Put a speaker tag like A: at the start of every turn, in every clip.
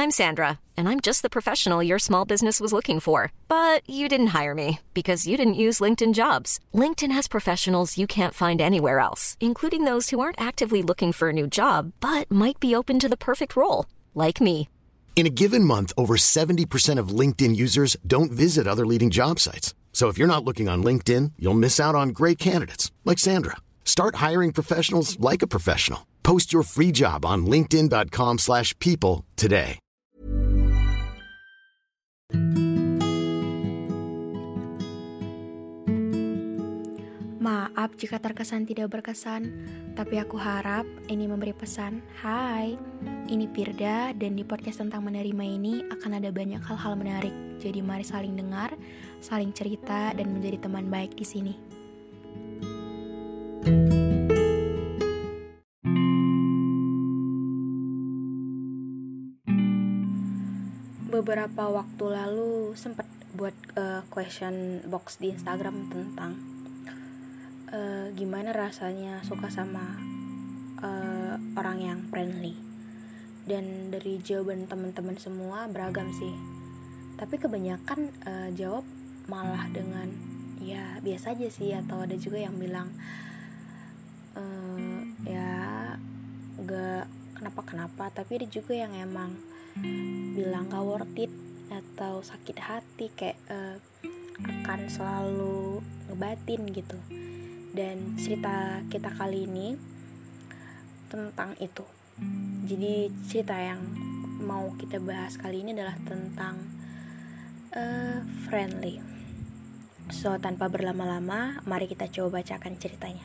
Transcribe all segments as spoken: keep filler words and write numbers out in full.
A: I'm Sandra, and I'm just the professional your small business was looking for. But you didn't hire me because you didn't use LinkedIn Jobs. LinkedIn has professionals you can't find anywhere else, including those who aren't actively looking for a new job, but might be open to the perfect role, like me.
B: In a given month, over seventy percent of LinkedIn users don't visit other leading job sites. So if you're not looking on LinkedIn, you'll miss out on great candidates like Sandra. Start hiring professionals like a professional. Post your free job on linkedin.com slash people today.
C: Maaf jika terkesan tidak berkesan, tapi aku harap ini memberi pesan. Hai, ini Firda, dan di podcast tentang menerima ini akan ada banyak hal-hal menarik. Jadi mari saling dengar, saling cerita, dan menjadi teman baik di sini. Beberapa waktu lalu sempat buat uh, question box di Instagram tentang uh, gimana rasanya suka sama uh, orang yang friendly. Dan dari jawaban teman-teman semua beragam sih. Tapi kebanyakan uh, jawab malah dengan ya biasa aja sih, atau ada juga yang bilang uh, ya gak kenapa-kenapa. Tapi ada juga yang emang bilang gak worth it atau sakit hati, kayak uh, akan selalu ngebatin gitu. Dan cerita kita kali ini tentang itu. Jadi cerita yang mau kita bahas kali ini adalah tentang uh, friendly. So tanpa berlama-lama, mari kita coba bacakan ceritanya.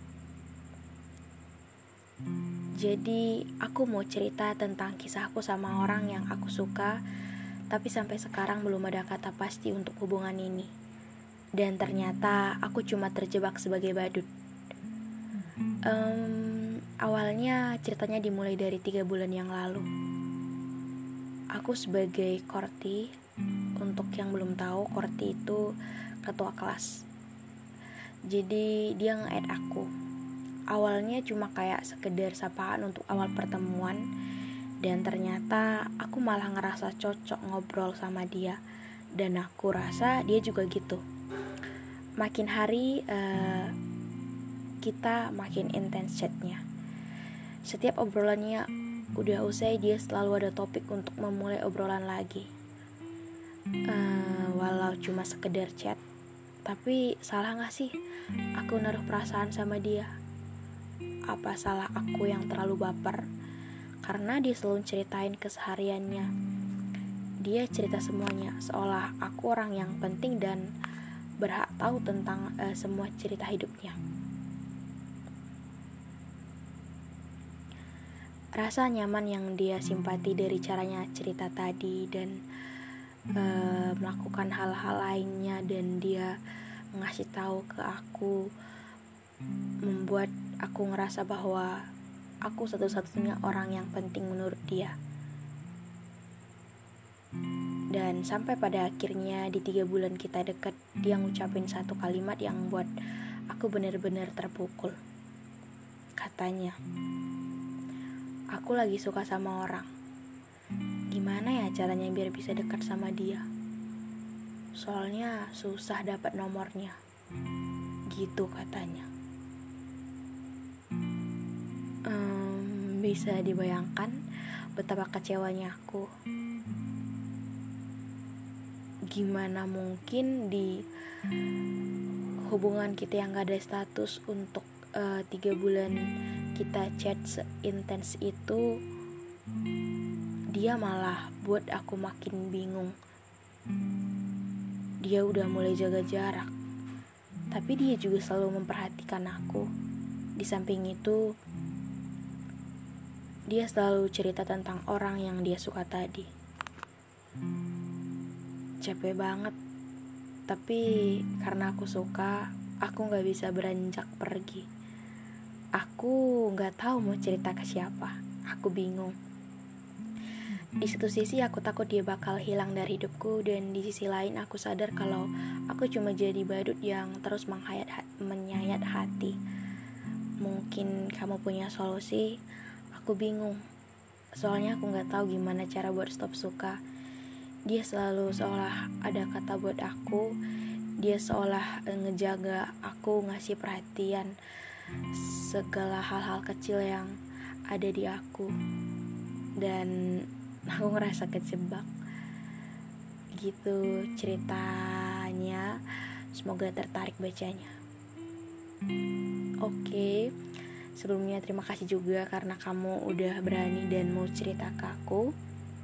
C: Jadi aku mau cerita tentang kisahku sama orang yang aku suka, tapi sampai sekarang belum ada kata pasti untuk hubungan ini. Dan ternyata aku cuma terjebak sebagai badut. um, Awalnya ceritanya dimulai dari tiga bulan yang lalu. Aku sebagai Korti, untuk yang belum tahu, Korti itu ketua kelas. Jadi dia nge-add aku. Awalnya cuma kayak sekedar sapaan untuk awal pertemuan, dan ternyata aku malah ngerasa cocok ngobrol sama dia, dan aku rasa dia juga gitu. Makin hari uh, kita makin intens chatnya. Setiap obrolannya udah usai, dia selalu ada topik untuk memulai obrolan lagi. uh, Walau cuma sekedar chat, tapi salah gak sih aku naruh perasaan sama dia? Apa salah aku yang terlalu baper? Karena dia selalu ceritain kesehariannya. Dia cerita semuanya, seolah aku orang yang penting dan berhak tahu tentang uh, semua cerita hidupnya. Rasa nyaman yang dia simpati dari caranya cerita tadi, dan uh, melakukan hal-hal lainnya, dan dia ngasih tahu ke aku, membuat aku ngerasa bahwa aku satu-satunya orang yang penting menurut dia. Dan sampai pada akhirnya di tiga bulan kita deket, dia ngucapin satu kalimat yang buat aku benar-benar terpukul. Katanya, aku lagi suka sama orang. Gimana ya caranya biar bisa dekat sama dia? Soalnya susah dapat nomornya. Gitu katanya. Um, bisa dibayangkan betapa kecewanya aku. Gimana mungkin di hubungan kita yang gak ada status untuk uh, tiga bulan kita chat seintens itu, dia malah buat aku makin bingung. Dia udah mulai jaga jarak, tapi dia juga selalu memperhatikan aku. Di samping itu, dia selalu cerita tentang orang yang dia suka tadi. Capek banget, tapi karena aku suka, aku gak bisa beranjak pergi. Aku gak tahu mau cerita ke siapa. Aku bingung. Di satu sisi aku takut dia bakal hilang dari hidupku, dan di sisi lain aku sadar kalau aku cuma jadi badut yang terus menghayat, menyayat hati. Mungkin kamu punya solusi. Aku bingung. Soalnya aku gak tahu gimana cara buat stop suka. Dia selalu seolah ada kata buat aku. Dia seolah ngejaga aku, ngasih perhatian segala hal-hal kecil yang ada di aku. Dan aku ngerasa kejebak. Gitu ceritanya. Semoga tertarik bacanya. Oke, sebelumnya terima kasih juga karena kamu udah berani dan mau cerita ke aku.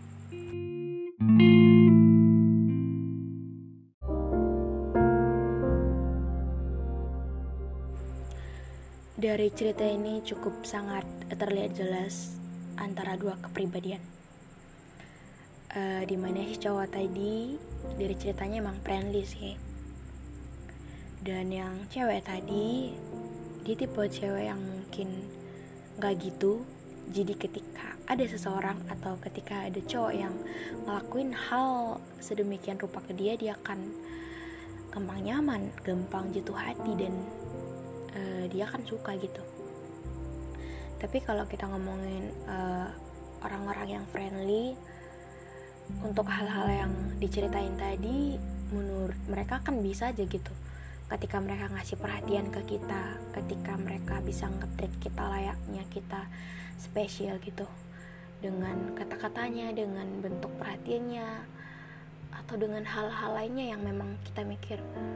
C: Dari cerita ini cukup sangat terlihat jelas antara dua kepribadian. Uh, dimana si cowok tadi dari ceritanya emang friendly sih. Dan yang cewek tadi, dia tipe cewek yang mungkin gak gitu. Jadi ketika ada seseorang atau ketika ada cowok yang ngelakuin hal sedemikian rupa ke dia, dia akan gampang nyaman, gampang jatuh hati, dan uh, dia akan suka gitu. Tapi kalau kita ngomongin uh, orang-orang yang friendly, untuk hal-hal yang diceritain tadi, menurut mereka kan bisa aja gitu. Ketika mereka ngasih perhatian ke kita, ketika mereka bisa nge-treat kita layaknya kita spesial gitu, dengan kata-katanya, dengan bentuk perhatiannya, atau dengan hal-hal lainnya yang memang kita mikir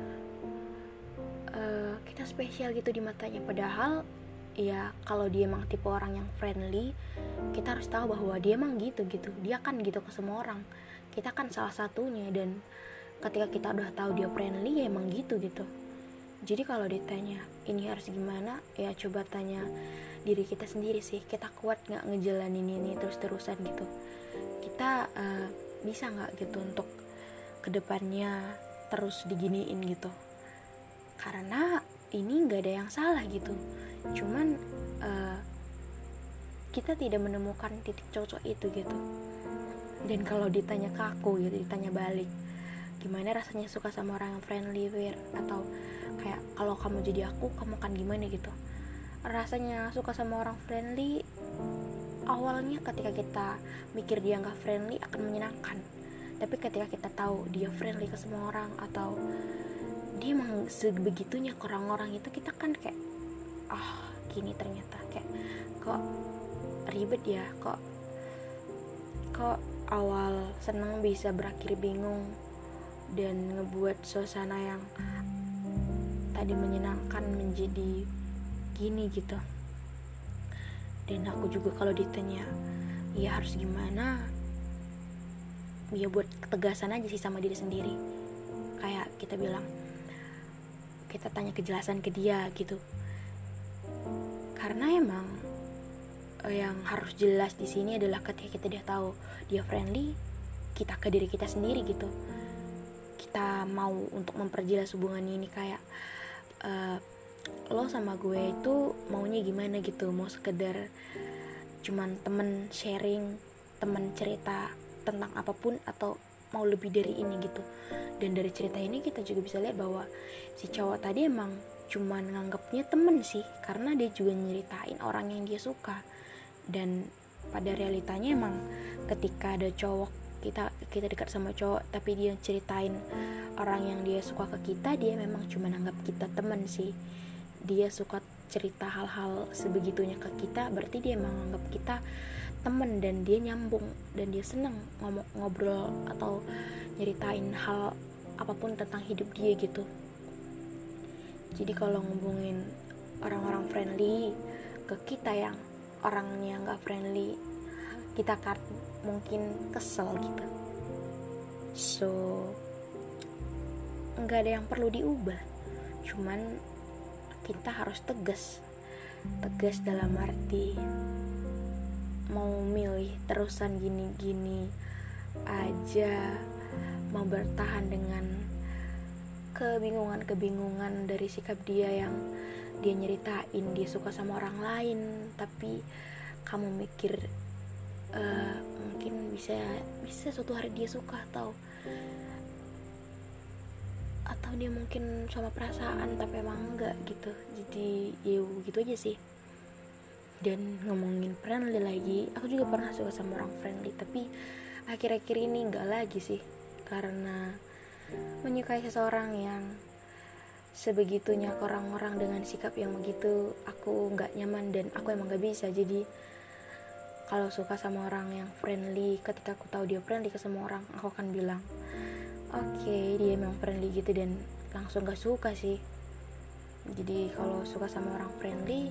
C: uh, kita spesial gitu di matanya. Padahal ya kalau dia emang tipe orang yang friendly, kita harus tahu bahwa dia emang gitu gitu. Dia kan gitu ke semua orang. Kita kan salah satunya, dan ketika kita udah tahu dia friendly, ya emang gitu gitu. Jadi kalau ditanya ini harus gimana, ya coba tanya diri kita sendiri sih. Kita kuat nggak ngejalanin ini terus-terusan gitu? Kita uh, bisa nggak gitu untuk kedepannya terus diginiin gitu? Karena ini nggak ada yang salah gitu. Cuman uh, kita tidak menemukan titik cocok itu gitu. Dan kalau ditanya ke aku gitu, ditanya balik, gimana rasanya suka sama orang yang friendly, weird, atau kayak kalau kamu jadi aku, kamu kan gimana gitu. Rasanya suka sama orang friendly, awalnya ketika kita mikir dia gak friendly akan menyenangkan. Tapi ketika kita tahu dia friendly ke semua orang, atau dia emang sebegitunya ke orang-orang itu, kita kan kayak ah gini ternyata, kayak kok ribet ya, kok kok awal seneng bisa berakhir bingung, dan ngebuat suasana yang tadi menyenangkan menjadi gini gitu. Dan aku juga kalau ditanya ya harus gimana, ya buat ketegasan aja sih sama diri sendiri. Kayak kita bilang, kita tanya kejelasan ke dia gitu. Karena emang yang harus jelas di sini adalah ketika kita udah tahu dia friendly, kita ke diri kita sendiri gitu. Kita mau untuk memperjelas hubungan ini, kayak uh, lo sama gue itu maunya gimana gitu. Mau sekedar cuman temen sharing, temen cerita tentang apapun, atau mau lebih dari ini gitu. Dan dari cerita ini kita juga bisa lihat bahwa si cowok tadi emang cuman nganggapnya temen sih, karena dia juga nyeritain orang yang dia suka. Dan pada realitanya emang ketika ada cowok, kita kita dekat sama cowok tapi dia ceritain orang yang dia suka ke kita, dia memang cuma anggap kita teman sih. Dia suka cerita hal-hal sebegitunya ke kita, berarti dia emang anggap kita teman, dan dia nyambung, dan dia seneng ngomong ngobrol atau nyeritain hal apapun tentang hidup dia gitu. Jadi kalau ngomongin orang-orang friendly ke kita yang orangnya nggak friendly, kita kan mungkin kesel gitu. So nggak ada yang perlu diubah, cuman kita harus tegas. Tegas dalam arti mau milih terusan gini-gini aja, mau bertahan dengan kebingungan-kebingungan dari sikap dia yang dia nyeritain dia suka sama orang lain, tapi kamu mikir uh, mungkin bisa bisa suatu hari dia suka, atau atau dia mungkin sama perasaan tapi emang enggak gitu. Jadi ya gitu aja sih. Dan ngomongin friendly lagi, aku juga pernah suka sama orang friendly, tapi akhir-akhir ini enggak lagi sih, karena menyukai seseorang yang sebegitunya ke orang-orang dengan sikap yang begitu, aku nggak nyaman dan aku emang nggak bisa. Jadi kalau suka sama orang yang friendly, ketika aku tahu dia friendly ke semua orang, aku akan bilang oke, okay, dia emang friendly gitu, dan langsung gak suka sih. Jadi kalau suka sama orang friendly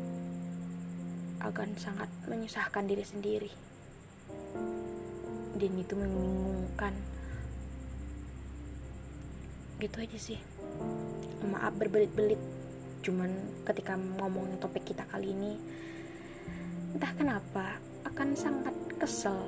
C: akan sangat menyusahkan diri sendiri, dan itu membingungkan. Gitu aja sih. Maaf berbelit-belit, cuman ketika ngomongin topik kita kali ini, entah kenapa akan sangat kesel.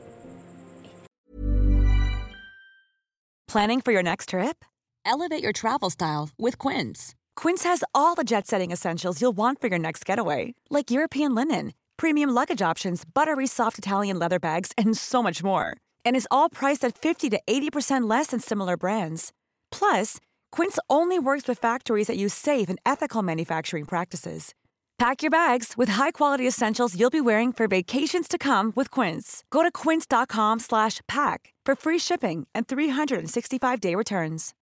D: Planning for your next trip? Elevate your travel style with Quince. Quince has all the jet-setting essentials you'll want for your next getaway, like European linen, premium luggage options, buttery soft Italian leather bags, and so much more. And is all priced at fifty to eighty percent less than similar brands. Plus, Quince only works with factories that use safe and ethical manufacturing practices. Pack your bags with high-quality essentials you'll be wearing for vacations to come with Quince. Go to quince.com slash pack for free shipping and three sixty-five day returns.